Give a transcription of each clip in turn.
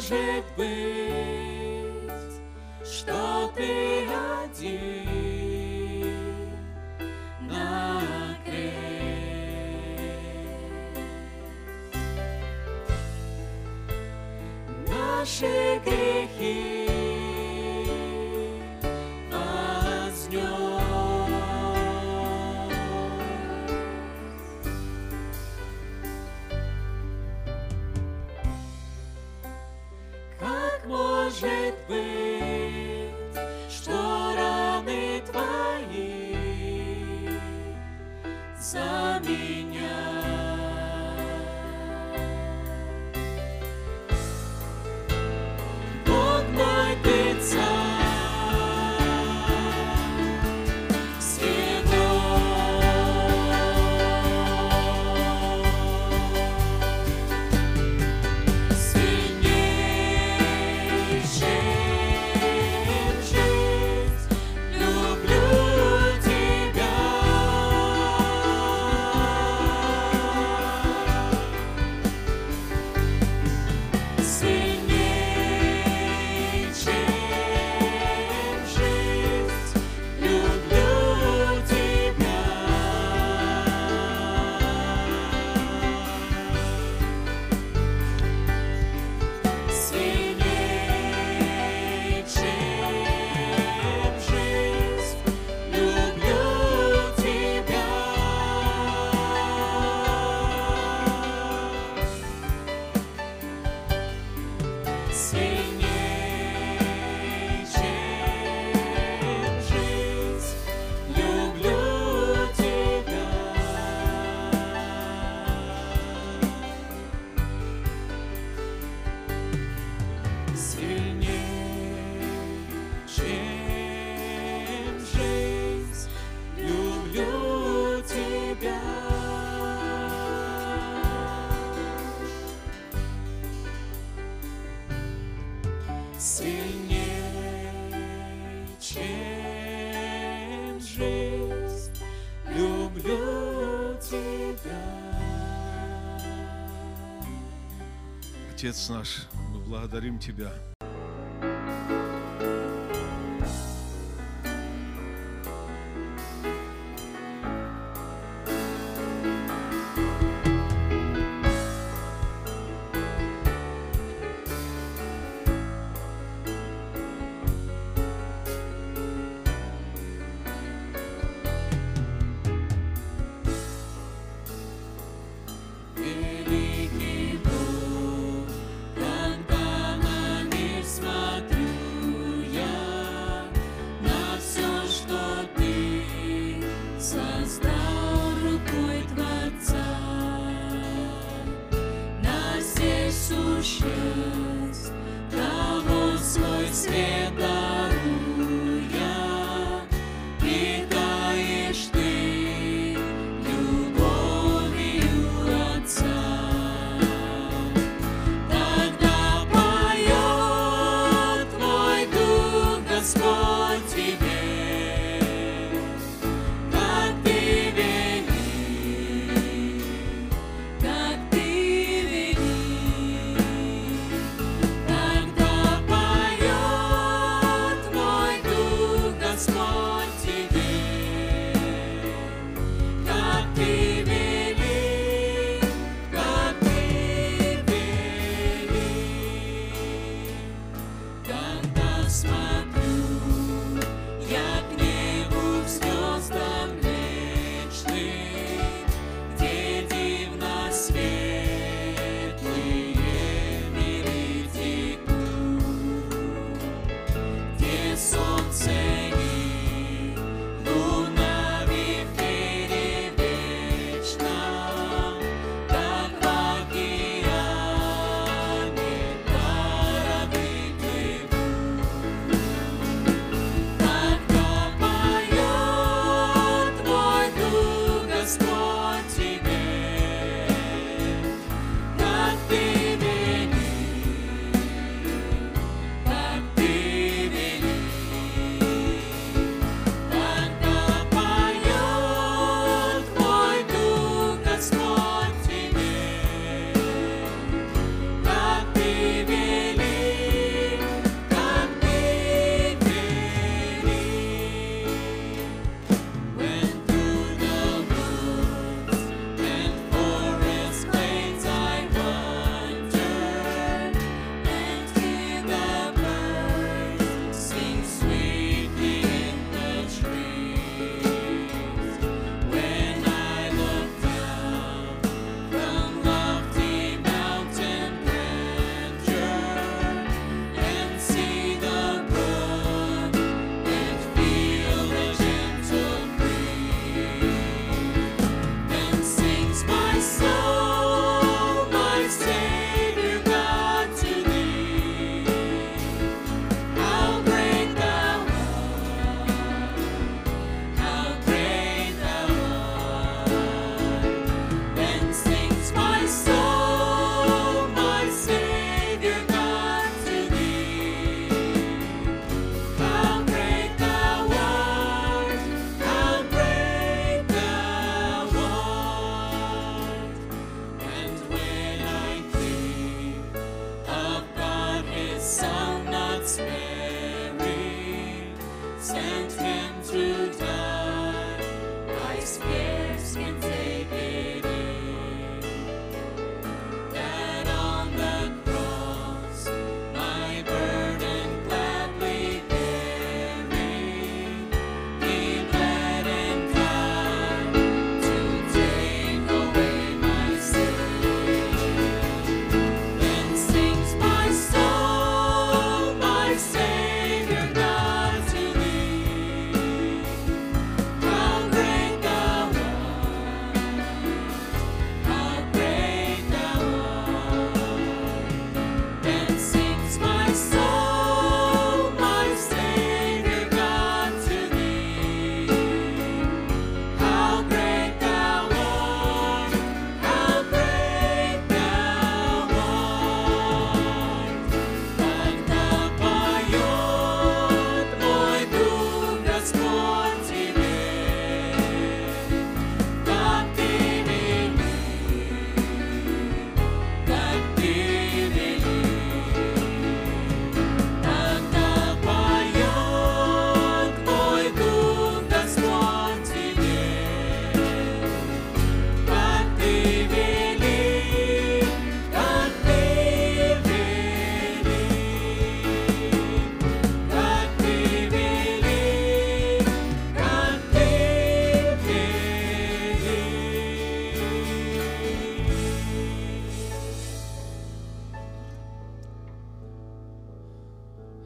может быть, что ты один на крест? Наши грехи может быть, что раны твои за меня. Бог мой, ты царь всего. Сильнее, чем жизнь, люблю тебя. Отец наш, мы благодарим Тебя. Того свой свет даруя, питаешь ты любовью Отца. Тогда поет твой Дух, Господь, тебе, как ты вели, как ты вели.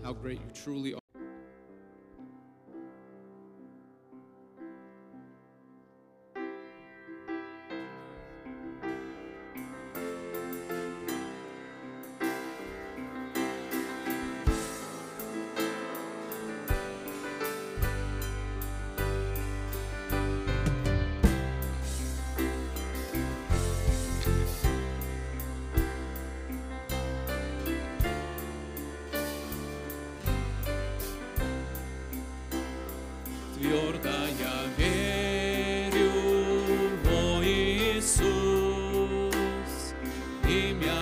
how great you truly are. Твердо я верю во Иисус, имя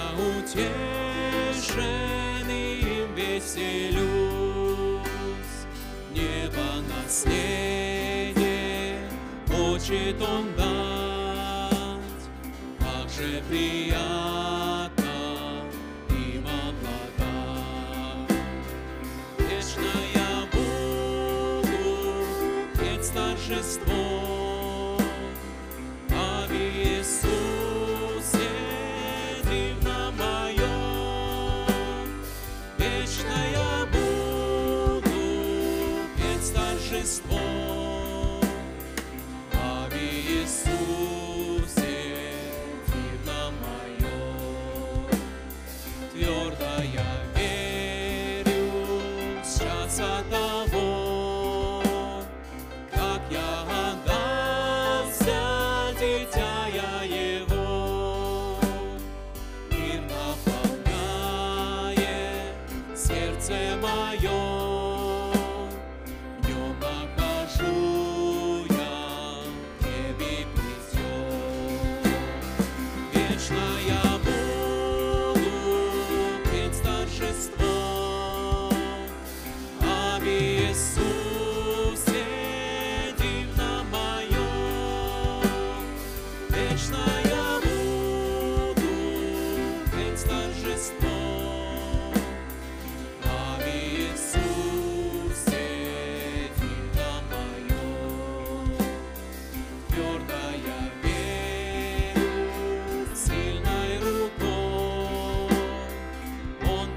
утешенным веселюсь. Небо наследие хочет Он дать, как же приятно им обладать. Вечно я буду петь торжество об Иисусе дивном моем. Вечно я буду петь торжество об Иисусе дивном моем. Твердо я верю с часа того, как я отдался, дитя я Его. Мир наполняет сердце мое, в нем нахожу я небе придет. Вечно я буду петь торжество об Иисусе дивном моем. Вечно я буду петь торжество об Иисусе дивном моем. Твердо я верю сильной рукой, Он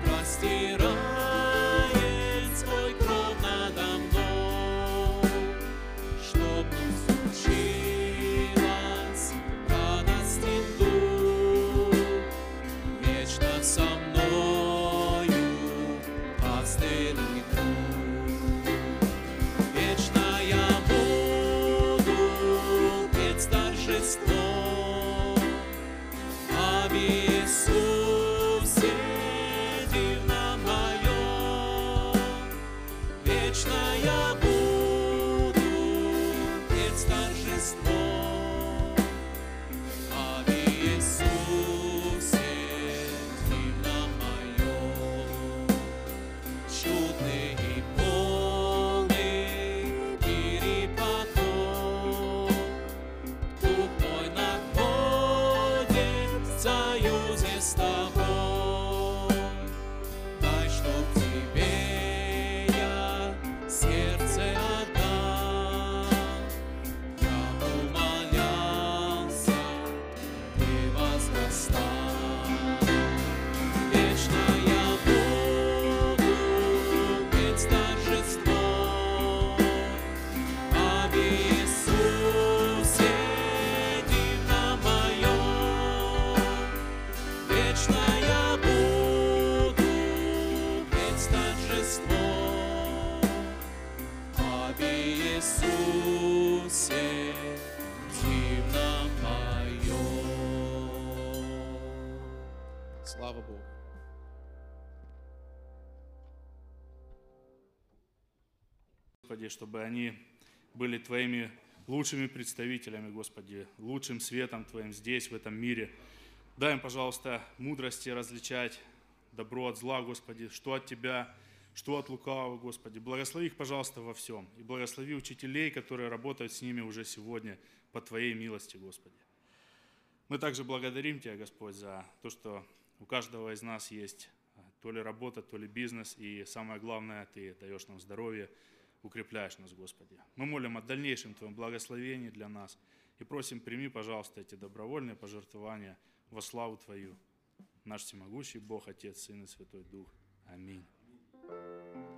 простирает свой кров надо мной, чтоб не случилось радостен дух, вечно со мною пастырь и друг. Вечно я буду петь торжество об Иисусе дивном моем. Вечно я буду петь торжество об Иисусе дивном моем. Чудный и полный перепадок, дух мой находит в союзе с тобой. Дай, чтоб тебе я сердце отдал, я умолялся, ты возрастал. Вечно я буду петь торжество об Иисусе дивном моем. Вечно я буду петь торжество об Иисусе дивном моем. Слава Богу. Господи, чтобы они были Твоими лучшими представителями, Господи, лучшим светом Твоим здесь, в этом мире. Дай им, пожалуйста, мудрости различать добро от зла, Господи, что от Тебя, что от лукавого, Господи. Благослови их, пожалуйста, во всем. И благослови учителей, которые работают с ними уже сегодня по Твоей милости, Господи. Мы также благодарим Тебя, Господь, за то, что у каждого из нас есть то ли работа, то ли бизнес, и самое главное, Ты даешь нам здоровье, укрепляешь нас, Господи. Мы молим о дальнейшем Твоем благословении для нас и просим, прими, пожалуйста, эти добровольные пожертвования во славу Твою. Наш всемогущий Бог, Отец, Сын и Святой Дух. Аминь.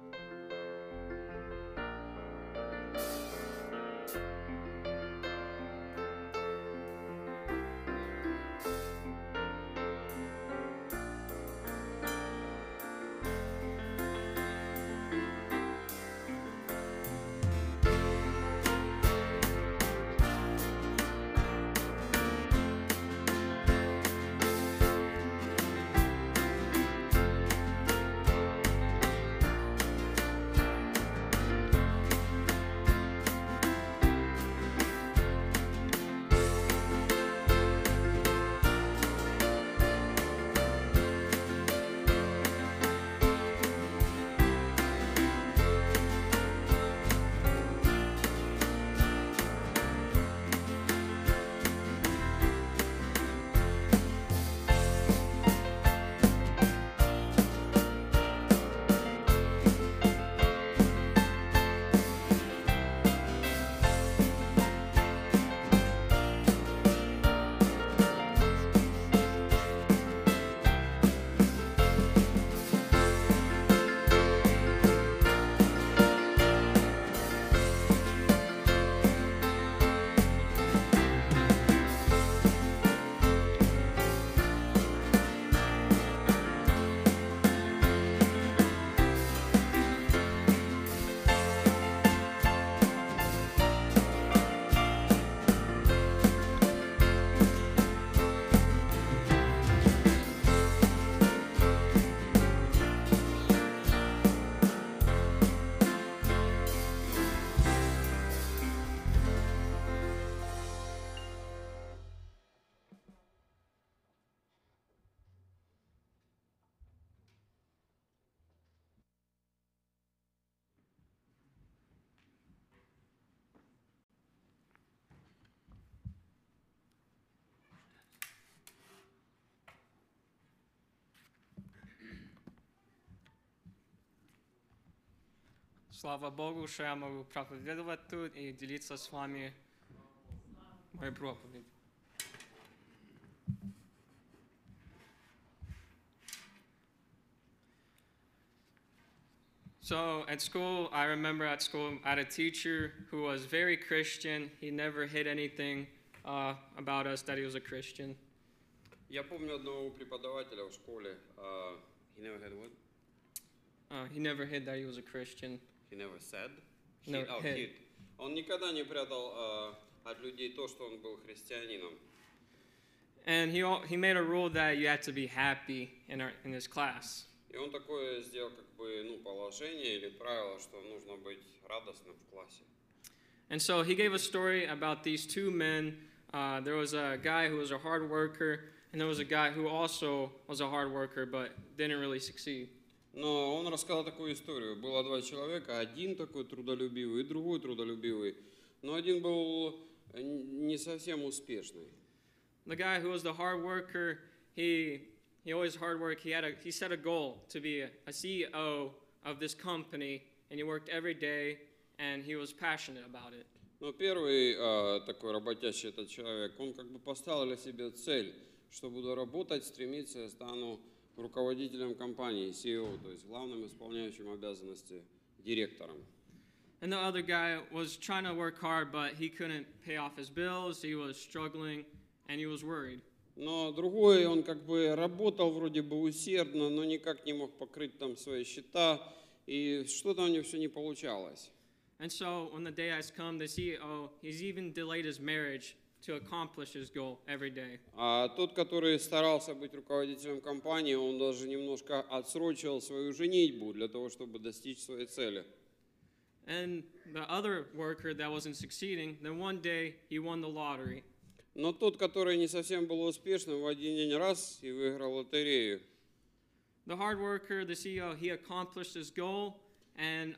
Слава Богу, що я можу проповідувати тут і ділитися з вами моєю проповідь. So at school, I remember at school, I had a teacher who was very Christian. He never hid anything about us that he was a Christian. Я помню одного преподавателя в школе. He never had what? He never hid that he was a Christian. He never said. No, hid. Hid. Он никогда не прятал от людей то, что он был христианином. And he made a rule that you had to be happy in his class. И он такое сделал, как бы, положение или правило, что нужно быть радостным в классе. And so he gave a story about these two men. There was a guy who was a hard worker, and there was a guy who also was a hard worker but didn't really succeed. Но он рассказал такую историю. Было два человека, один такой трудолюбивый и другой трудолюбивый. Но один был не совсем успешный. The guy who was the hard worker, he always hard work. He set a goal to be a CEO of this company, and he worked every day, and he was passionate about it. Но первый такой работящий этот человек, он как бы поставил для себя цель, что буду работать, стремиться, я стану руководителем компании, CEO, то есть главным исполняющим обязанности директором. And the other guy was trying to work hard, but he couldn't pay off his bills. He was struggling, and he was worried. Но другой, он как бы работал вроде бы усердно, но никак не мог покрыть там свои счета, и что-то у него все не получалось. And so when the day has come, the CEO, he's even delayed his marriage to accomplish his goal every day. А тот, который старался быть руководителем компании, он даже немножко отсрочил свою женитьбу для того, чтобы достичь своей цели. And the other worker that wasn't succeeding, then one day he won the lottery. Но тот, который не совсем был успешным, в один день раз и выиграл лотерею. The hard worker, the CEO, he accomplished his goal, and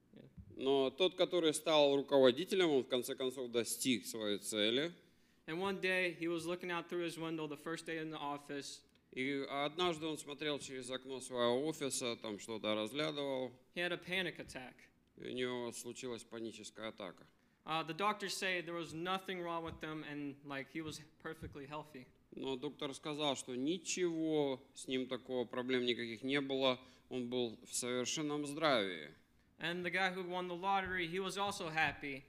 Но тот, который стал руководителем, он в конце концов достиг своей цели. one day he was looking out through his window the first day in the office. И однажды он смотрел через окно своего офиса, там что-то разглядывал, He had a panic attack. и у него случилась паническая атака. The doctors say there was nothing wrong with him, and like he was perfectly healthy. Но доктор сказал, что ничего с ним такого, проблем никаких не было, он был в совершенном здравии. And the guy who won the lottery, he was also happy.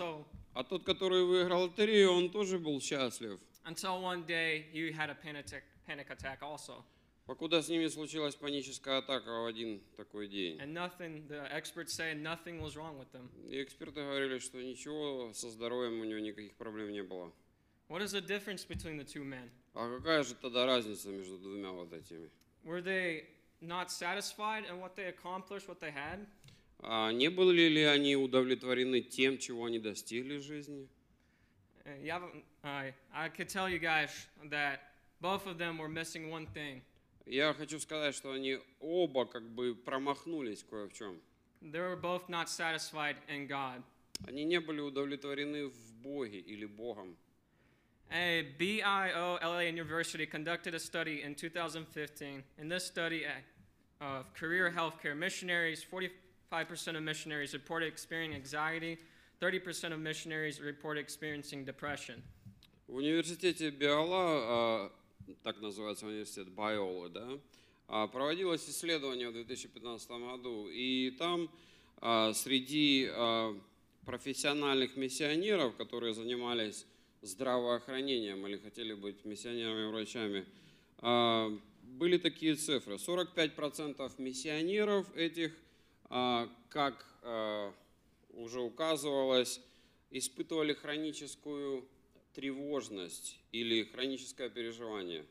А тот, который выиграл лотерею, он тоже был счастлив. Until one day he had a panic attack also. Покуда с ними случилась паническая атака в один такой день. And the experts say nothing was wrong with them. И эксперты говорили, что ничего со здоровьем у него никаких проблем не было. What is the difference between the two men? А какая же тогда разница между двумя вот этими? Were they not satisfied in what they accomplished, what they had? Не были ли они удовлетворены тем, чего они достигли в жизни? I could tell you guys that both of them were missing one thing. Я хочу сказать, что они оба как бы промахнулись кое в чем. They were both not satisfied in God. Они не были удовлетворены в Боге или Богом. A BIOLA University conducted a study in 2015. In this study of career healthcare missionaries, 45% of missionaries reported experiencing anxiety, 30% of missionaries reported experiencing depression. В университете Биола, так называется университет Байолы, да, проводилось исследование в 2015 году, и там среди профессиональных миссионеров, которые занимались здравоохранением или хотели быть миссионерами-врачами, были такие цифры. 45% миссионеров этих, как уже указывалось, испытывали хроническую тревожность или хроническое переживание.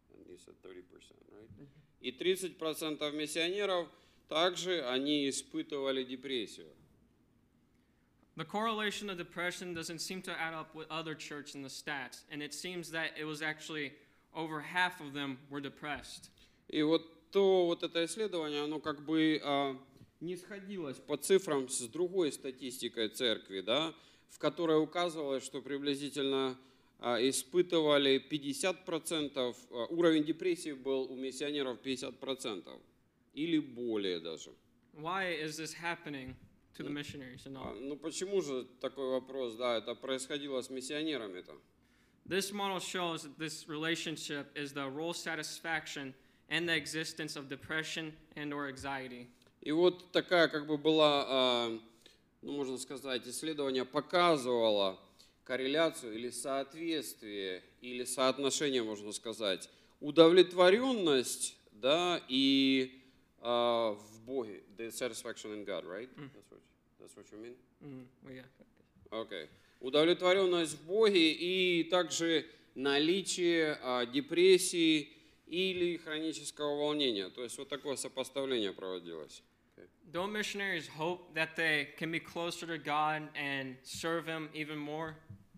И 30% миссионеров также они испытывали депрессию. The correlation of depression doesn't seem to add up with other churches in the stats, and it seems that it was actually over half of them were depressed. И вот это исследование, оно как бы не сходилось по цифрам с другой статистикой церкви, да, в которой указывалось, что приблизительно испытывали 50%, уровень депрессии был у миссионеров 50% или более даже. Why is this happening? to the missionaries and all. Ну почему же такой вопрос? Да, это происходило с миссионерами-то. This model shows that this relationship is the role satisfaction and the existence of depression and or anxiety. И вот такая как бы была, ну можно сказать, исследование показывало корреляцию или соответствие, или соотношение, можно сказать, удовлетворенность, да, и в Боге, the satisfaction in God, right? That's what you mean? Well, yeah. Okay. Удовлетворенность в Боге и также наличие депрессии или хронического волнения. То есть вот такое сопоставление проводилось. Don't missionaries hope that they can be closer to God and serve Him even more?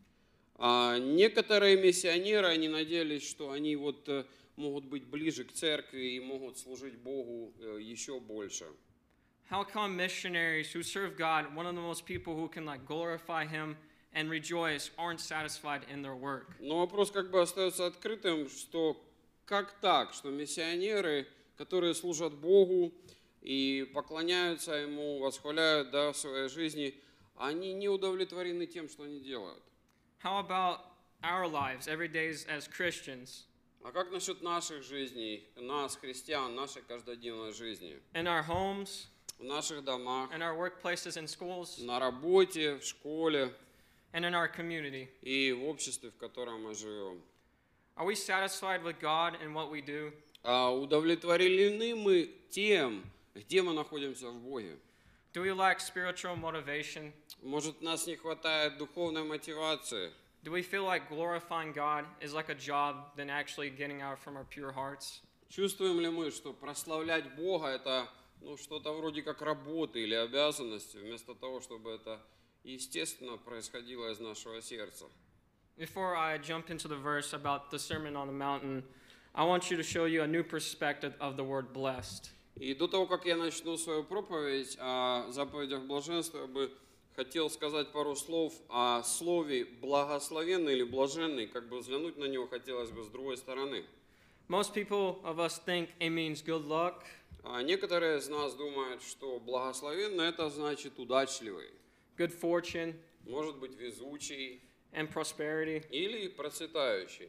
Некоторые миссионеры, они надеялись, что они вот могут быть ближе к церкви и могут служить Богу еще больше. How come missionaries who serve God, one of the most people who can like glorify Him and rejoice, aren't satisfied in their work? Но вопрос как бы остается открытым, что как так, что миссионеры, которые служат Богу и поклоняются Ему, восхваляют, да, в своей жизни, они не удовлетворены тем, что они делают. How about our lives, every day as Christians? А как насчет наших жизней, нас, христиан, нашей каждодневной жизни? In our homes, В наших домах, in our workplaces and schools, на работе, в школе and in our community. и в обществе, в котором мы живем. Are we satisfied with God and what we do? Удовлетворены мы тем, где мы находимся в Боге? Do we lack spiritual motivation? Может, нас не хватает духовной мотивации? Do we feel like glorifying God is like a job than actually getting out from our pure hearts? Чувствуем ли мы, что прославлять Бога это что-то вроде как работы или обязанности, вместо того, чтобы это естественно происходило из нашего сердца? Before I jump into the verse about the Sermon on the Mountain, I want you to show you a new perspective of the word blessed. И до того, как я начну свою проповедь о заповедях блаженства, я бы хотел сказать пару слов о слове «благословенный» или «блаженный», как бы взглянуть на него хотелось бы с другой стороны. Most people of us think it means good luck, Некоторые из нас думают, что благословенный – это значит удачливый, good fortune, может быть везучий and prosperity. или процветающий.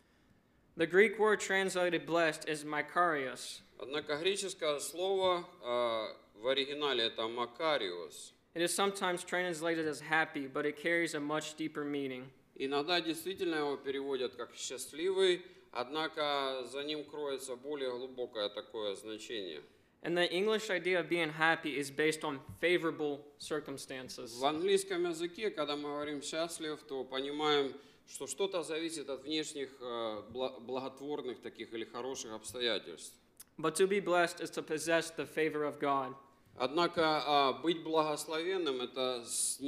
The Greek word translated blessed is makarios. Однако греческое слово в оригинале это «макариос». It is sometimes translated as happy, but it carries a much deeper meaning. Иногда действительно его переводят как «счастливый», однако за ним кроется более глубокое такое значение. And the English idea of being happy is based on favorable circumstances. В английском языке, когда мы говорим «счастлив», то понимаем, что что-то зависит от внешних благотворных таких или хороших обстоятельств. But to be blessed is to possess the favor of God. Однако быть благословенным – это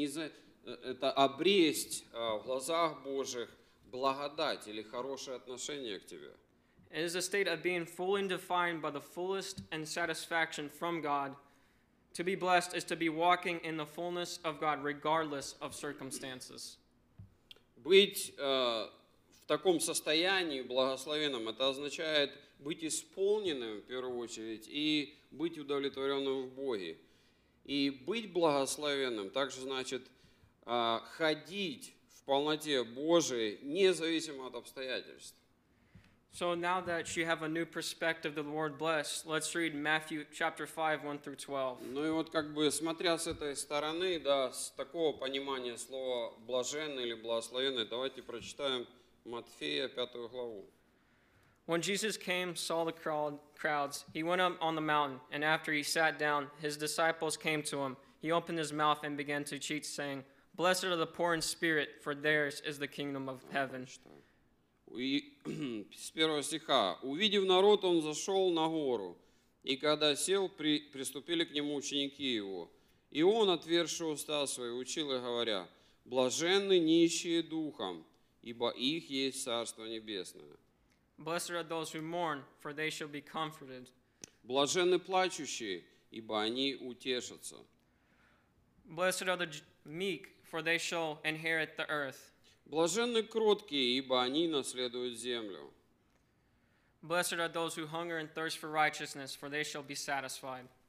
обресть в глазах Божьих благодать или хорошее отношение к тебе. It is a state of being fully defined by the fullest and satisfaction from God. To be blessed is to be walking in the fullness of God regardless of circumstances. Быть в таком состоянии благословенным – это означает быть исполненным в первую очередь и быть удовлетворенным в Боге. И быть благословенным также значит ходить в полноте Божией, независимо от обстоятельств. So now that you have a new perspective of the word blessed, let's read Matthew chapter 5, 1 through 12. Ну и вот как бы смотря с этой стороны, да, с такого понимания слова «блаженный» или «благословенный», давайте прочитаем Матфея 5 главу. When Jesus came, saw the crowds, he went up on the mountain, and after he sat down, his disciples came to him. He opened his mouth and began to teach, saying, Blessed are the poor in spirit, for theirs is the kingdom of heaven. И с первого стиха. «Увидев народ, он зашел на гору, и когда сел, приступили к нему ученики его. И он, отверши уста свои, учил их, говоря, блаженны нищие духом, ибо их есть Царство Небесное. Blessed are those who mourn, for they shall be comforted. Блаженны плачущие, ибо они утешатся. Blessed are the meek, for they shall inherit the earth. Блаженны кроткие, ибо они наследуют землю. Blessed are those who hunger and thirst for righteousness, for they shall be satisfied.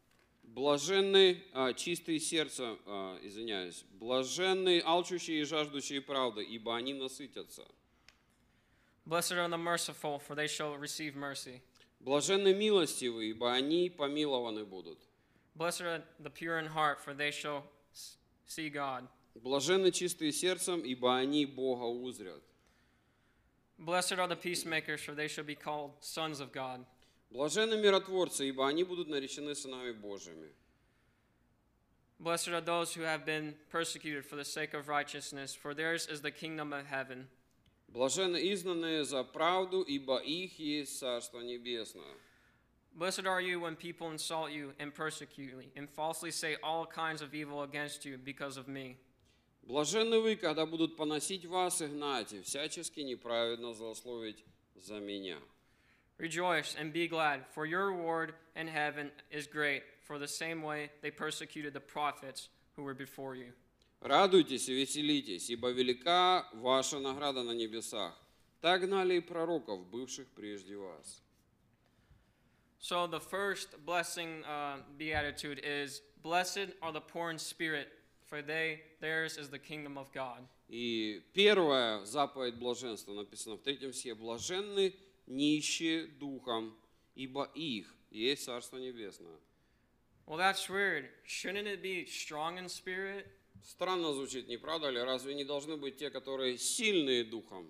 Блаженны чистые сердцем, извиняюсь, блаженны алчущие и жаждущие правды, ибо они насытятся. Blessed are the merciful, for they shall receive mercy. Блаженны милостивые, ибо они помилованы будут. Blessed are the pure in heart, for they shall see God. Блаженны чистые сердцем, ибо они Бога узрят. Blessed are the peacemakers, for they shall be called sons of God. Блаженны миротворцы, ибо они будут наречены сынами Божьими. Blessed are those who have been persecuted for the sake of righteousness, for theirs is the kingdom of heaven. Блаженны изгнанные за правду, ибо их есть Царство Небесное. Blessed are you when people insult you and persecute you, and falsely say all kinds of evil against you because of me. Блаженны вы, когда будут поносить вас и гнать, и всячески неправедно злословить за меня. Rejoice and be glad, for your reward in heaven is great, for the same way they persecuted the prophets who were before you. Радуйтесь и веселитесь, ибо велика ваша награда на небесах. Так гнали и пророков, бывших прежде вас. So the first blessing beatitude is, blessed are the poor in spirit, for theirs is the kingdom of God. И первая заповедь блаженства написана в 3 стихе. Блаженны нищие духом, ибо их есть Царство Небесное. Well, that's weird. Shouldn't it be strong in spirit? Странно звучит, не правда ли? Разве не должны быть те, которые сильные духом?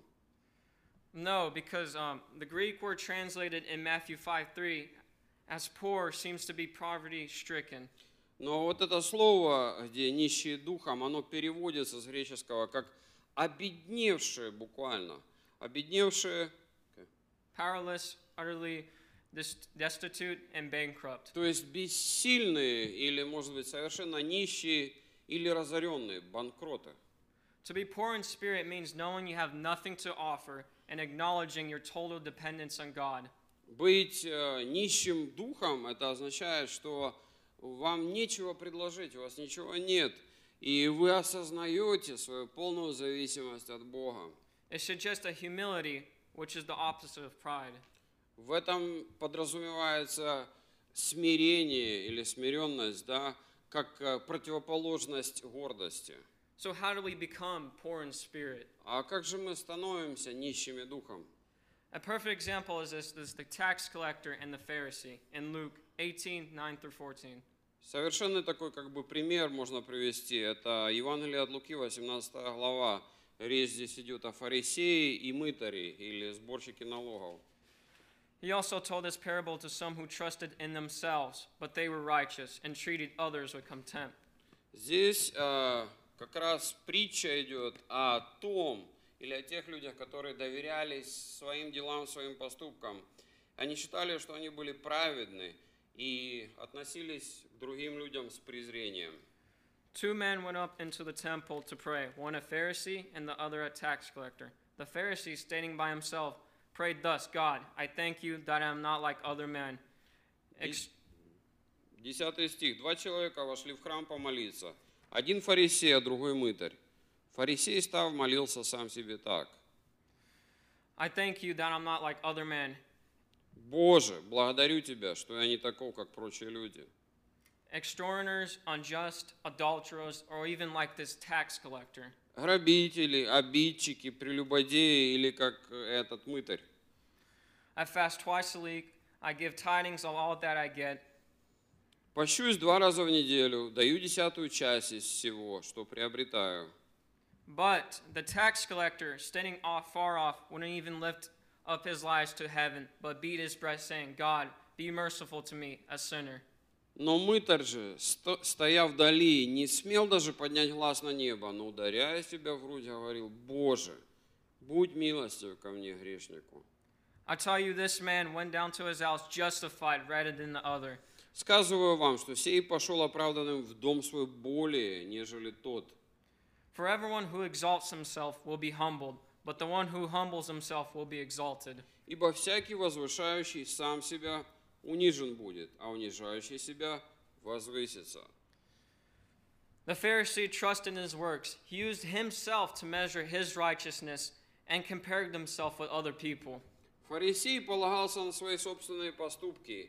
No, because the Greek word translated in Matthew 5:3 as poor seems to be poverty-stricken. Но вот это слово, где нищие духом, оно переводится с греческого как обедневшие буквально. Обедневшие, Powerless, utterly destitute, and bankrupt. то есть бессильные или, может быть, совершенно нищие или разоренные, банкроты. To be poor in spirit means knowing you have nothing to offer and acknowledging your total dependence on God. Быть нищим духом, это означает, что вам нечего предложить, у вас ничего нет, и вы осознаете свою полную зависимость от Бога. It suggests a humility, which is the opposite of pride. В этом подразумевается смирение или смиренность, да, как противоположность гордости. So how do we become poor in spirit? А как же мы становимся нищими духом? A perfect example is the tax collector and the Pharisee in Luke 18:9-14. Совершенно такой как бы пример можно привести. Это Евангелие от Луки, 18 глава. Речь здесь идет о фарисее и мытаре, или сборщике налогов. He also told this parable to some who trusted in themselves, but they were righteous and treated others with contempt. Здесь как раз притча идет о том, или о тех людях, которые доверялись своим делам, своим поступкам. Они считали, что они были праведны и относились к другим людям с презрением. Two men went up into the temple to pray, one a Pharisee and the other a tax collector. The Pharisee, standing by himself, prayed thus, God, I thank you that I am not like other men. 10 стих. 2 человека вошли в храм помолиться. Один фарисей, а другой мытарь. Фарисей, став, молился сам себе так. I thank you that I'm not like other men. Боже, благодарю Тебя, что я не таков, как прочие люди. Extortioners, unjust, adulterers, or even like this tax collector. Грабители, обидчики, прелюбодеи или как этот мытарь. I fast twice a week. I give tidings of all that I get. Пощусь 2 раза в неделю, даю 10-ую часть из всего, что приобретаю. But the tax collector, standing far off, wouldn't even lift up his eyes to heaven, but beat his breast, saying, God, be merciful to me, a sinner. Но мытарь же, стоя вдали, не смел даже поднять глаз на небо, но, ударяя себя в грудь, говорил: Боже, будь милостив ко мне, грешнику. I tell you, this man went down to his house justified rather than the other. Сказываю вам, что сей пошел оправданным в дом свой более, нежели тот. For everyone who exalts himself will be humbled, but the one who humbles himself will be exalted. Ибо всякий возвышающий сам себя унижен будет, а унижающий себя возвысится. The Pharisee trusted in his works. He used himself to measure his righteousness and compared himself with other people. Фарисей полагался на свои собственные поступки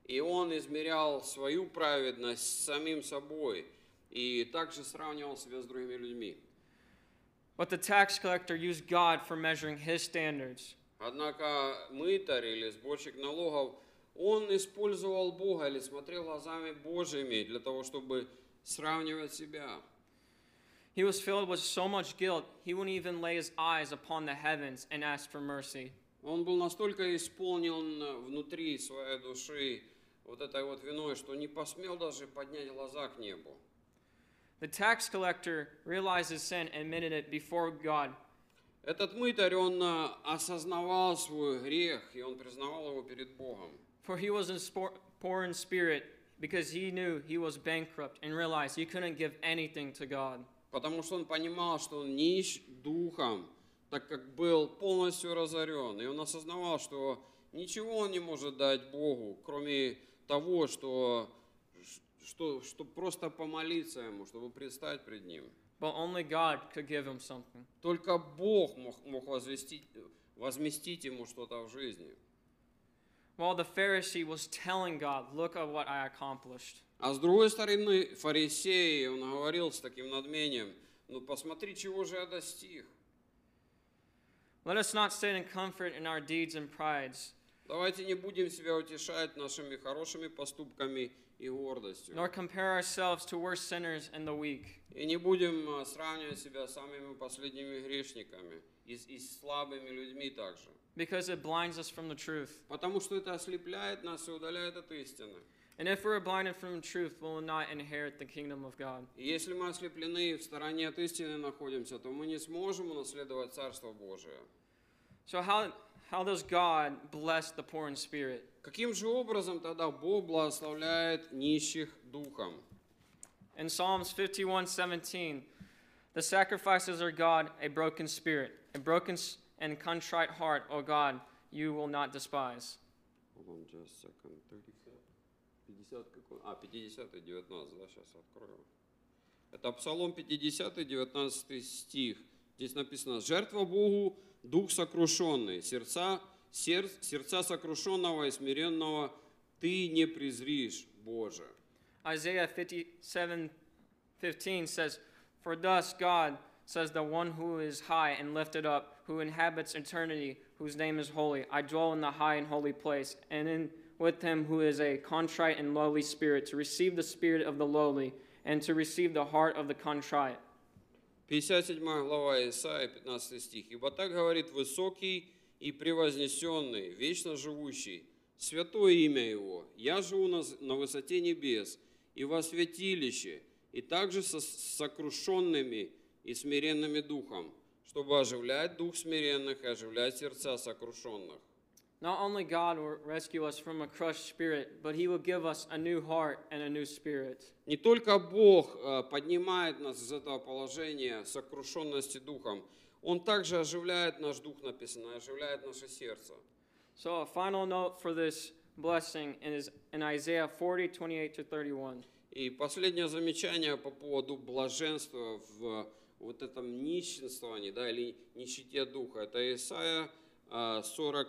и он измерял свою праведность с самим собой и также сравнивал себя с другими людьми. But the tax collector used God for measuring his standards. Однако мытарь или сборщик налогов, он использовал Бога или смотрел глазами Божьими для того, чтобы сравнивать себя. He was filled with so much guilt, he wouldn't even lay his eyes upon the heavens and ask for mercy. Он был настолько исполнен внутри своей души вот этой вот виной, что не посмел даже поднять глаза к небу. The tax collector realized his sin and admitted it before God. Этот мытарь, он осознавал свой грех, и он признавал его перед Богом. For he was poor in spirit because he knew he was bankrupt and realized he couldn't give anything to God. Потому что он понимал, что он нищ духом, так как был полностью разорен. И он осознавал, что ничего он не может дать Богу, кроме того, что просто помолиться Ему, чтобы предстать пред Ним. But only God could give him something. Только Бог мог возместить ему что-то в жизни. While the Pharisee was telling God, look at what I accomplished. А с другой стороны, фарисей, он говорил с таким надмением, ну посмотри, чего же я достиг. Let us not sit in comfort in our deeds and prides, Давайте не будем себя утешать нашими хорошими поступками и гордостью. nor compare ourselves to worse sinners and the weak. И не будем сравнивать себя с самыми последними грешниками и с слабыми людьми также. Because it blinds us from the truth. Потому что это ослепляет нас и удаляет от истины. And if we're blinded from the truth, we will not inherit the kingdom of God. И если мы ослеплены и в стороне от истины находимся, то мы не сможем унаследовать Царство Божие. So how does God bless the poor in spirit? Каким же образом тогда Бог благословляет нищих духом? In Psalms 51:17, the sacrifices are God, a broken spirit, a broken and contrite heart, O God, you will not despise. 50, 19, да, сейчас открою. Это Псалом 50, 19 стих. Здесь написано: «Жертва Богу дух сокрушенный, сердца сокрушенного и смиренного ты не презришь, Боже». Isaiah 57:15 says, For thus God says the one who is high and lifted up, who inhabits eternity, whose name is holy. I dwell in the high and holy place, and with him who is a contrite and lowly spirit, to receive the spirit of the lowly, and to receive the heart of the contrite. 57 глава Исаия, 15 стих. «Ибо так говорит высокий и превознесенный, вечно живущий, святое имя Его. Я живу на высоте небес и во святилище, и также со сокрушенными и смиренными духом, чтобы оживлять дух смиренных и оживлять сердца сокрушенных». Not only God will rescue us from a crushed spirit, but He will give us a new heart and a new spirit. Не только Бог поднимает нас из этого положения сокрушенности духом, Он также оживляет наш дух, написано, оживляет наше сердце. So a final note for this blessing is in Isaiah 40:28-31. И последнее замечание по поводу блаженства в вот этом нищенствовании, да, или нищете духа. Это Исаия 40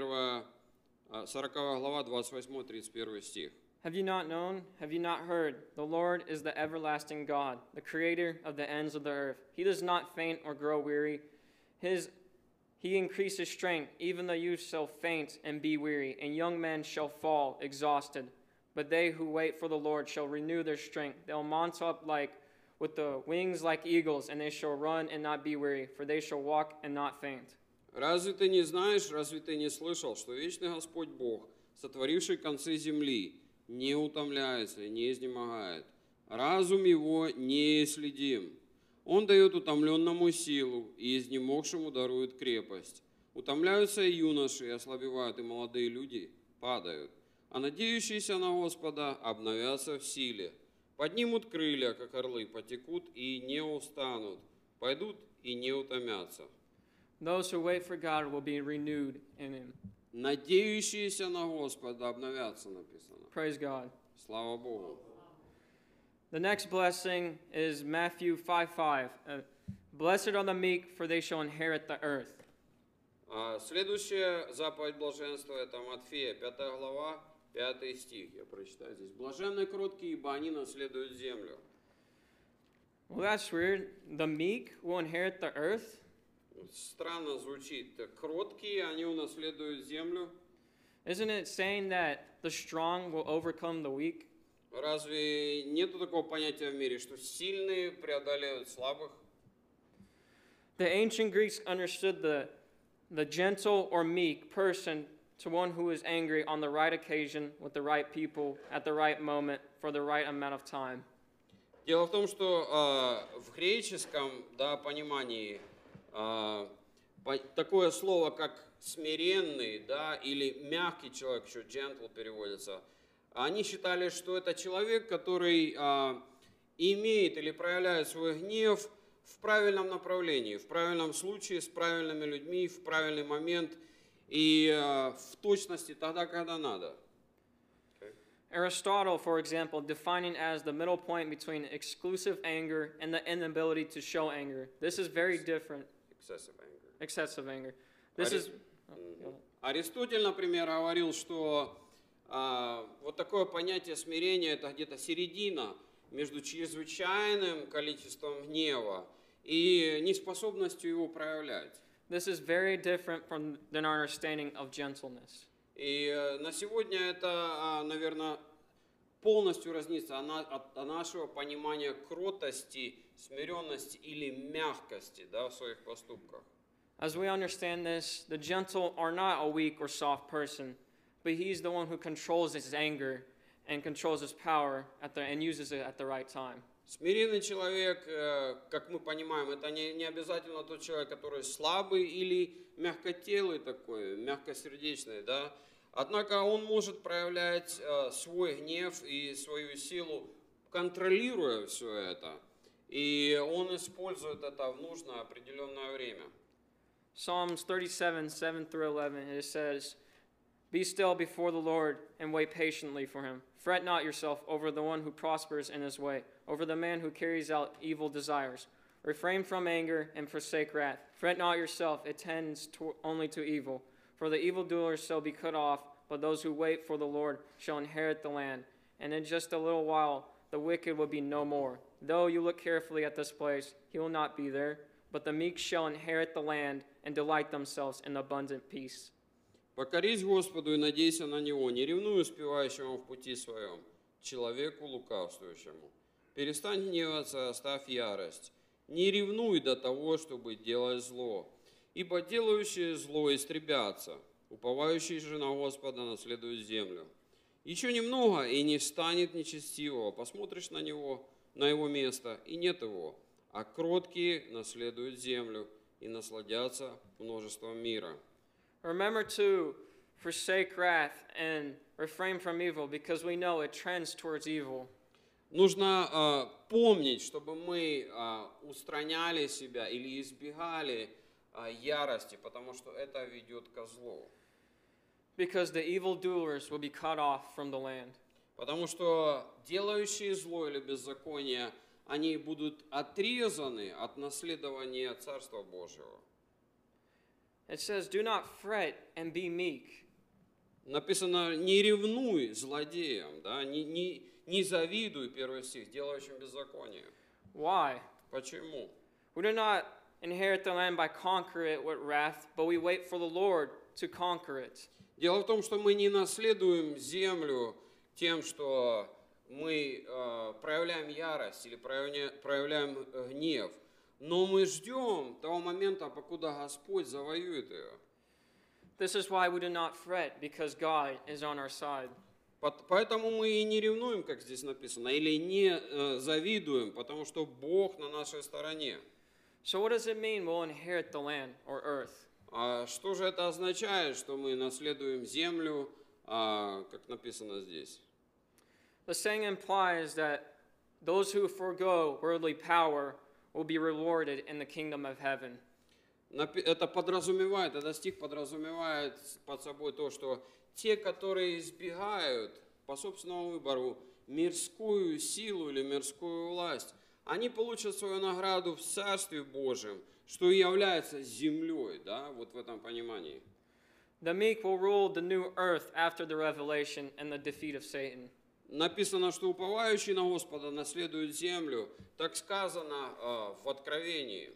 глава, 28-31 стих. Have you not known? Have you not heard? The Lord is the everlasting God, the creator of the ends of the earth. He does not faint or grow weary. He increases strength. Even the youth shall faint and be weary, and young men shall fall exhausted. But they who wait for the Lord shall renew their strength. They'll mount up with the wings like eagles, and they shall run and not be weary, for they shall walk and not faint. Разве ты не знаешь, разве ты не слышал, что вечный Господь Бог, сотворивший концы земли, не утомляется и не изнемогает? Разум его неисследим. Он дает утомленному силу, и изнемогшему дарует крепость. Утомляются и юноши, и ослабевают, и молодые люди падают. А надеющиеся на Господа обновятся в силе. Поднимут крылья, как орлы, потекут и не устанут, пойдут и не утомятся. Those who wait for God will be renewed in Him. Надеющиеся на Господа обновятся, написано. Praise God. Слава Богу. The next blessing is Matthew 5:5. Blessed are the meek, for they shall inherit the earth. Следующая заповедь блаженства – это Матфея, 5 глава, 5 стих, я прочитаю здесь. «Блаженны кроткие, ибо они наследуют землю». Well, that's weird. The meek will inherit the earth. Странно звучит. Кроткие, они унаследуют землю. Isn't it saying that the strong will overcome the weak? Разве нету такого понятия в мире, что сильные преодолеют слабых? The ancient Greeks understood the gentle or meek person to one who is angry on the right occasion with the right people at the right moment for the right amount of time. Дело в том, что в греческом понимании такое слово, как смиренный, или мягкий человек, еще gentle переводится, они считали, что это человек, который имеет или проявляет свой гнев в правильном направлении, в правильном случае, с правильными людьми, в правильный момент и в точности тогда, когда надо. Aristotle, for example, defining as the middle point between exclusive anger and the inability to show anger. This is very different. Excessive anger. Excessive anger. This is. Аристотель, например, говорил, что вот такое понятие смирения – это где-то середина между чрезвычайным количеством гнева и неспособностью его проявлять. This is very different than our understanding of gentleness. И на сегодня это, наверное, полностью разнится от нашего понимания кротости, смиренности или мягкости в своих поступках. As we understand this, the gentle are not a weak or soft person, but he's the one who controls his anger and controls his power and uses it at the right time. Смиренный человек, как мы понимаем, это не обязательно тот человек, который слабый или мягкотелый такой, мягкосердечный, Однако он может проявлять свой гнев и свою силу, контролируя все это, и он использует это в нужное определенное время. Psalms 37:7-11, it says, "Be still before the Lord and wait patiently for him. Fret not yourself over the one who prospers in his way, over the man who carries out evil desires. Refrain from anger and forsake wrath. Fret not yourself, it tends only to evil. For the evildoers shall be cut off, but those who wait for the Lord shall inherit the land. And in just a little while the wicked will be no more. Though you look carefully at this place, he will not be there. But the meek shall inherit the land and delight themselves in abundant peace." «Покорись Господу и надейся на Него, не ревнуй успевающему в пути своем, человеку лукавствующему. Перестань гневаться, оставь ярость. Не ревнуй до того, чтобы делать зло, ибо делающие зло истребятся, уповающие же на Господа наследуют землю. Еще немного, и не станет нечестивого, посмотришь на него, на его место, и нет его, а кроткие наследуют землю и насладятся множеством мира». Remember to forsake wrath and refrain from evil, because we know it trends towards evil. Нужно помнить, чтобы мы устраняли себя или избегали ярости, потому что это ведет ко злу. Because the evildoers will be cut off from the land. Потому что делающие зло или беззаконие, они будут отрезаны от наследования Царства Божьего. It says, "Do not fret and be meek." Написано, не ревнуй злодеям, не завидуй, 1 стих, делающим беззаконие. Why? Почему? We do not inherit the land by conquering it with wrath, but we wait for the Lord to conquer it. Дело в том, что мы не наследуем землю тем, что мы проявляем ярость или проявляем гнев, но мы ждем того момента, покуда Господь завоюет ее. This is why we do not fret, because God is on our side. Поэтому мы и не ревнуем, как здесь написано, или не завидуем, потому что Бог на нашей стороне. So what does it mean we'll inherit the land or earth? А что же это означает, что мы наследуем землю, как написано здесь? The saying implies that those who forego worldly power will be rewarded in the kingdom of heaven. Это подразумевает, этот стих подразумевает под собой то, что те, которые избегают по собственному выбору мирскую силу или мирскую власть, они получат свою награду в Царстве Божьем, что и является землей, вот в этом понимании. The meek will rule the new earth after the revelation and the defeat of Satan. Написано, что уповающий на Господа наследует землю. Так сказано в Откровении.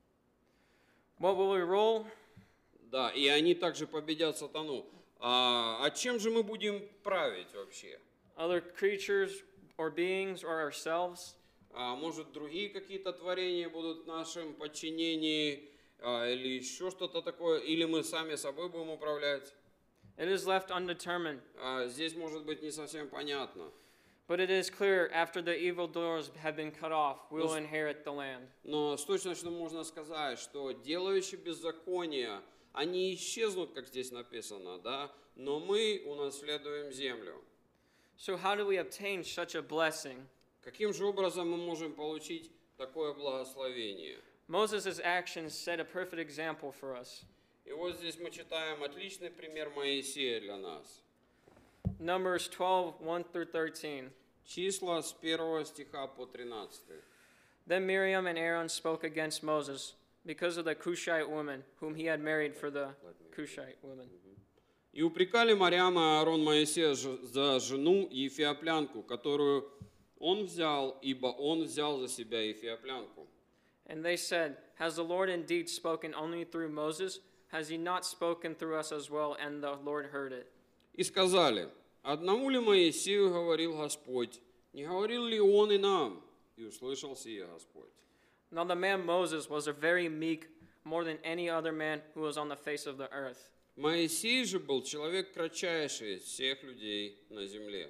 What will we rule? Да, и они также победят сатану. А чем же мы будем править вообще? Other creatures or beings or ourselves? Может, другие какие-то творения будут в нашем подчинении, или еще что-то такое, или мы сами собой будем управлять? It is left undetermined. Здесь может быть не совсем понятно. But it is clear after the evildoers have been cut off, we will inherit the land. Но с точностью можно сказать, что делающие беззаконие, они исчезнут, как здесь написано, да? Но мы унаследуем землю. So how do we obtain such a blessing? Каким же образом мы можем получить такое благословение? Moses' actions set a perfect example for us. И вот здесь мы читаем отличный пример Моисея для нас. Numbers 12, 1 through 13. Числа с 1 стиха по 13. Then Miriam and Aaron spoke against Moses because of the Cushite woman whom he had married for the Cushite woman. И упрекали Марьям и Аарон Моисея за жену Ефиоплянку, которую он взял, ибо он взял за себя Ефиоплянку. And they said, Has the Lord indeed spoken only through Moses? Has he not spoken through us as well? And the Lord heard it. И сказали, одному ли Моисею говорил Господь, не говорил ли он и нам? И услышал сие Господь. Now the man Moses was a very meek, more than any other man who was on the face of the earth. Моисей же был человек кратчайший из всех людей на земле.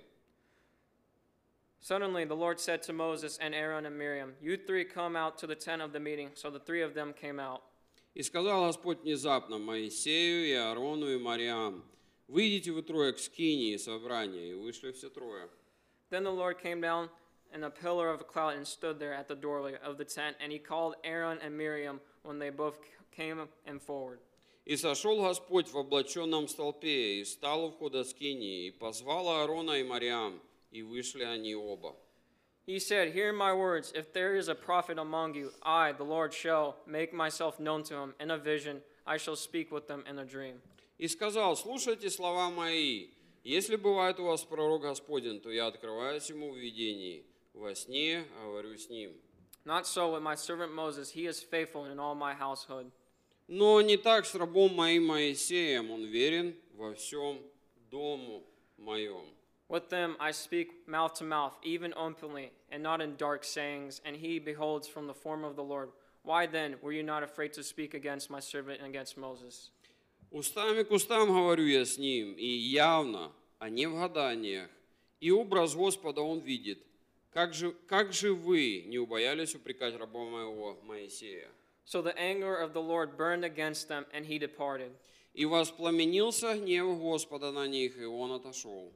Suddenly the Lord said to Moses and Aaron and Miriam, You three come out to the tent of the meeting. So the three of them came out. И сказал Господь внезапно Моисею и Аарону и Марьям, выйдите вы трое к скинии собрания, и вышли все трое. Then the Lord came down in a pillar of a cloud and stood there at the doorway of the tent, and he called Aaron and Miriam when they both came in forward. И сошел Господь в облаченном столпе, и стал у входа скинии, и позвал Аарона и Марьям, и вышли они оба. He said, Hear my words. If there is a prophet among you, I, the Lord, shall make myself known to him. In a vision, I shall speak with them in a dream. И сказал, слушайте слова мои. Если бывает у вас пророк Господень, то я открываюсь ему в видении. Во сне говорю с ним. Not so with my servant Moses. He is faithful in all my household. Но не так с рабом моим Моисеем, он верен во всем дому моем. With them I speak mouth to mouth, even openly, and not in dark sayings, and he beholds from the form of the Lord. Why then were you not afraid to speak against my servant and against Moses? Устами к устам говорю я с ним, и явно, а не в гаданиях. И образ Господа он видит. Как же вы не убоялись упрекать раба моего Моисея? So the anger of the Lord burned against them, and he departed. И воспламенился гнев Господа на них, и он отошел.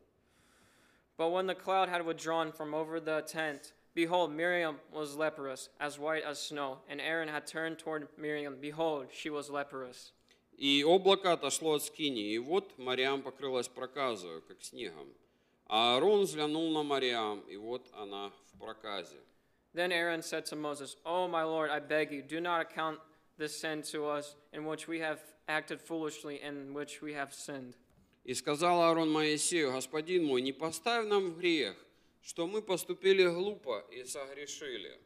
But when the cloud had withdrawn from over the tent, behold, Miriam was leprous, as white as snow, and Aaron had turned toward Miriam. Behold, she was leprous. И облако отошло от скинии, и вот Марьям покрылась проказою, как снегом. А Аарон взглянул на Марьям, и вот она в проказе. Then Aaron said to Moses, Oh, my Lord, I beg you, do not account this sin to us, in which we have acted foolishly, in which we have sinned. И сказал Аарон Моисею, господин мой, не поставь нам в грех, что мы поступили глупо и согрешили.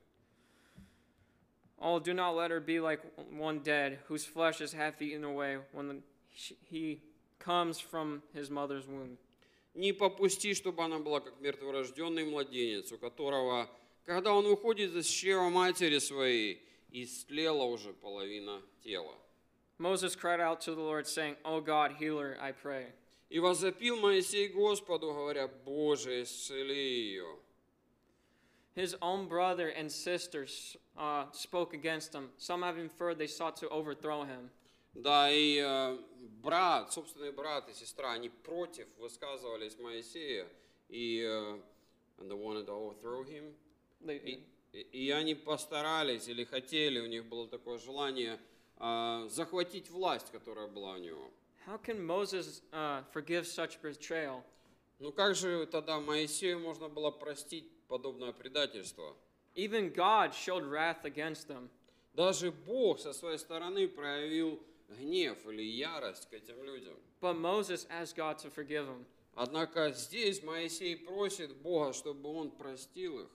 Oh, do not let her be like one dead, whose flesh is half eaten away when he comes from his mother's womb. Не попусти, чтобы она была как мертворожденный младенец, у которого, когда он выходит из чрева матери своей, истлела уже половина тела. Moses cried out to the Lord, saying, O God, healer, I pray. И возопил Моисей Господу, говоря, Боже, исцели ее. His own brother and sisters spoke against him. Some have inferred they sought to overthrow him. Да, и брат, собственный брат и сестра, они против высказывались Моисея, и and they wanted to overthrow him. И они постарались или хотели, у них было такое желание захватить власть, которая была у него. How can Moses forgive such betrayal? Ну как же тогда Моисею можно было простить подобное предательство? Even God showed wrath against them. Даже Бог со своей стороны проявил гнев или ярость к этим людям. But Moses asked God to forgive him. Однако здесь Моисей просит Бога, чтобы он простил их.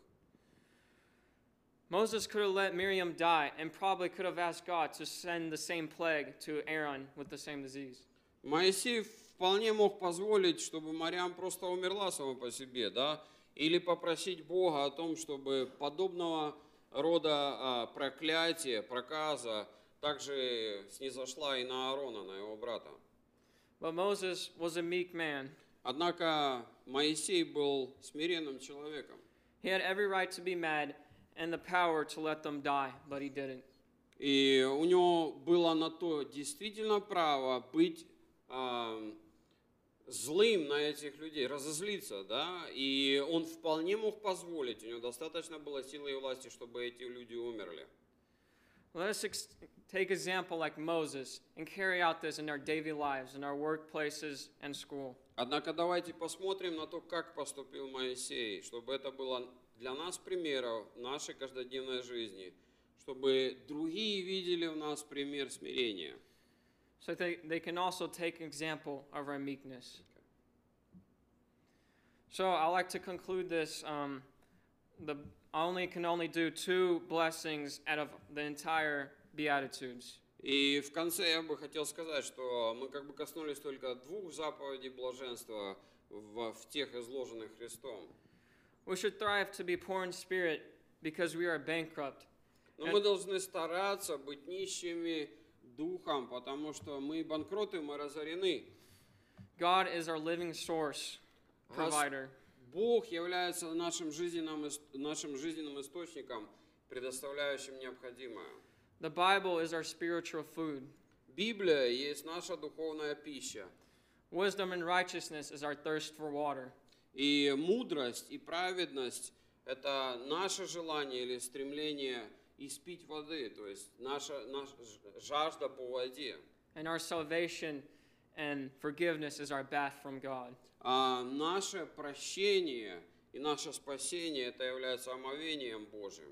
Moses could have let Miriam die and probably could have asked God to send the same plague to Aaron with the same disease. Моисей вполне мог позволить, чтобы Марьям просто умерла сама по себе, да, или попросить Бога о том, чтобы подобного рода проклятие, проказа также снизошла и на Аарона, на его брата. But Moses was a meek man. Однако Моисей был смиренным человеком. He had every right to be mad and the power to let them die, but he didn't. И у него было на то действительно право быть злым на этих людей, разозлиться, да, и он вполне мог позволить, у него достаточно было силы и власти, чтобы эти люди умерли. Let us take example like Moses and carry out this in our daily lives, in our workplaces and school. Однако давайте посмотрим на то, как поступил Моисей, чтобы это было для нас примером в нашей каждодневной жизни, чтобы другие видели в нас пример смирения. So they can also take example of our meekness. So I like to conclude this. I can only do 2 blessings out of the entire Beatitudes. И в конце я бы хотел сказать, что мы как бы коснулись только 2 заповедей блаженства в тех изложенных Христом. We should thrive to be poor in spirit because we are bankrupt. Но мы должны стараться быть нищими духом, потому что мы банкроты, мы разорены. God is our living source, provider. Бог является нашим жизненным источником, предоставляющим необходимое. The Bible is our spiritual food. Библия есть наша духовная пища. Wisdom and righteousness is our thirst for water. И мудрость и праведность – это наше желание или стремление испить воды, то есть наша жажда по воде. And our salvation and forgiveness is our bath from God. А наше прощение и наше спасение – это является омовением Божьим.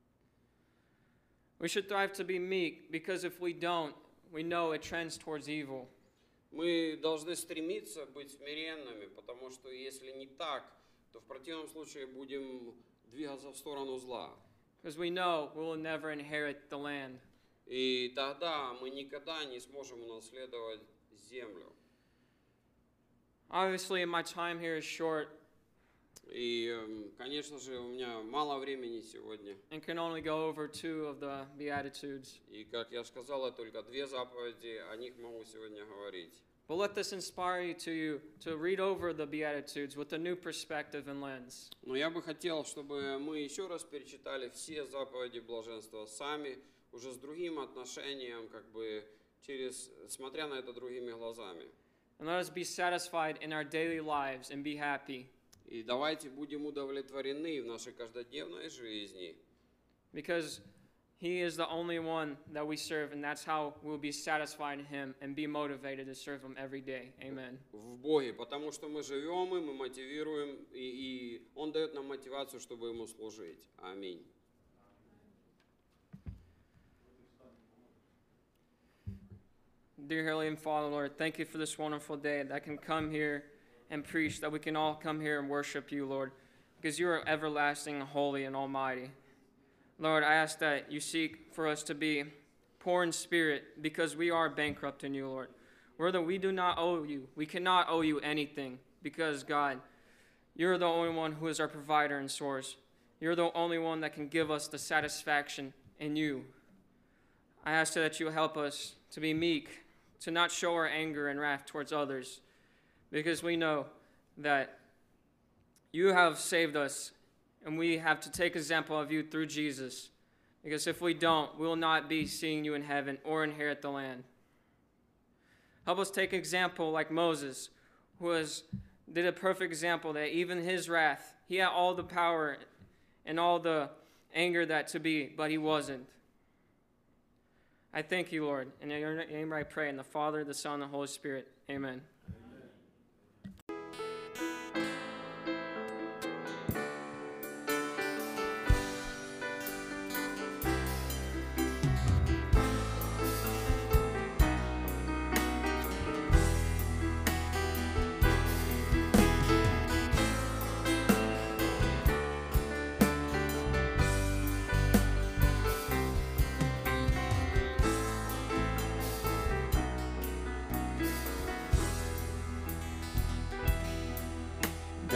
We should thrive to be meek because if we don't, we know it trends towards evil. Мы должны стремиться быть смиренными, потому что если не так, то в противном случае будем двигаться в сторону зла. Because we know we will never inherit the land. И тогда мы никогда не сможем унаследовать землю. Obviously, my time here is short И, конечно же, у меня мало времени сегодня. and can only go over 2 of the Beatitudes. И, как я сказал, я только 2 заповеди, о них могу сегодня говорить. But let this inspire you to read over the Beatitudes with a new perspective and lens. Но я бы хотел, чтобы мы еще раз перечитали все заповеди блаженства сами, уже с другим отношением, как бы смотря на это другими глазами. And let us be satisfied in our daily lives and be happy. И давайте будем удовлетворены в нашей каждодневной жизни, Because He is the only one that we serve, and that's how we'll be satisfied in Him and be motivated to serve Him every day. Amen. в Боге, потому что мы живем и мы мотивируем, и Он дает нам мотивацию, чтобы Ему служить. Аминь. Dear Heavenly Father, Lord, thank you for this wonderful day that I can come here and preach, that we can all come here and worship you, Lord, because you are everlasting, holy, and almighty. Lord, I ask that you seek for us to be poor in spirit because we are bankrupt in you, Lord. Whether we do not owe you, we cannot owe you anything because, God, you're the only one who is our provider and source. You're the only one that can give us the satisfaction in you. I ask that you help us to be meek, to not show our anger and wrath towards others, because we know that you have saved us, and we have to take example of you through Jesus, because if we don't, we will not be seeing you in heaven or inherit the land. Help us take example like Moses, who did a perfect example that even his wrath, he had all the power and all the anger that to be, but he wasn't. I thank you, Lord. In your name I pray, in the Father, the Son, and the Holy Spirit. Amen.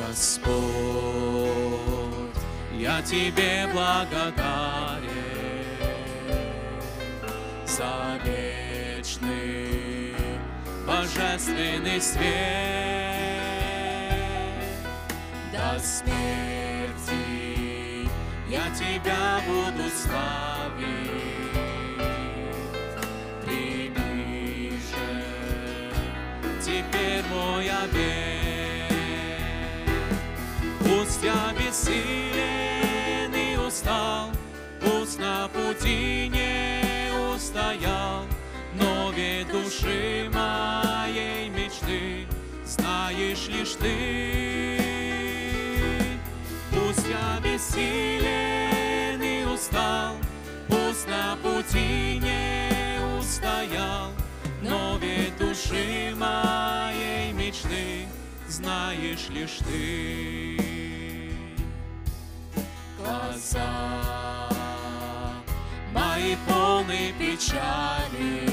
Господь, я Тебе благодарен за вечный божественный свет. До смерти я Тебя буду славить. Прими же теперь мой обет. Пусть я бессилен и устал, пусть на пути не устоял, но ведь души моей мечты знаешь лишь Ты. Пусть я бессилен и устал, пусть на пути не устоял, но ведь души моей мечты знаешь лишь Ты. Глаза мои полны печали,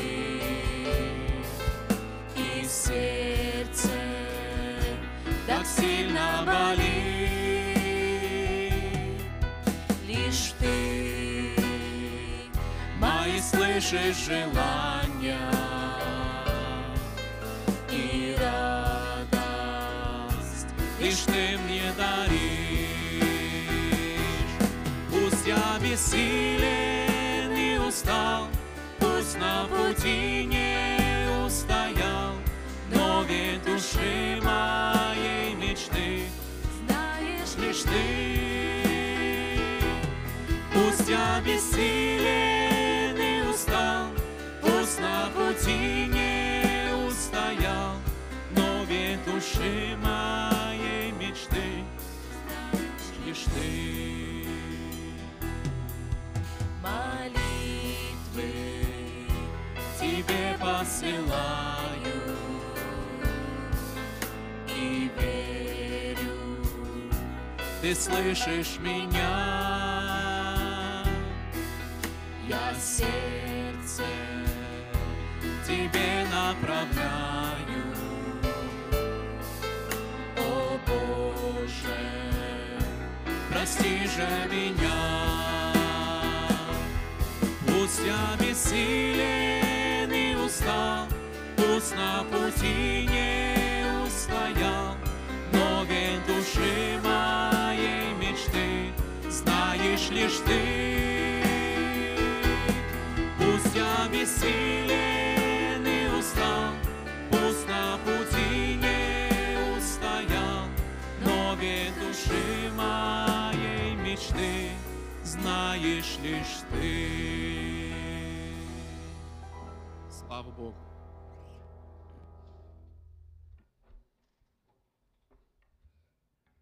и сердце так сильно болит. Лишь Ты мои слышишь желания и радость, лишь Ты мне даришь. Пусть я бессилен и устал, пусть на пути не устоял, но ведь души моей мечты знаешь лишь Ты. Пусть я бессилен и устал, пусть на пути не устоял, но ведь души моей мечты знаешь лишь Ты. Молитвы Тебе посылаю и верю, Ты слышишь меня. Я сердце Тебе направляю, о Боже, прости же меня. Пусть я бессилен и устал, пусть на пути не устоял, но ведь души моей мечты знаешь лишь Ты. Пусть я бессилен и устал, пусть на пути не устоял, но ведь души моей мечты знаешь лишь Ты. Слава Богу.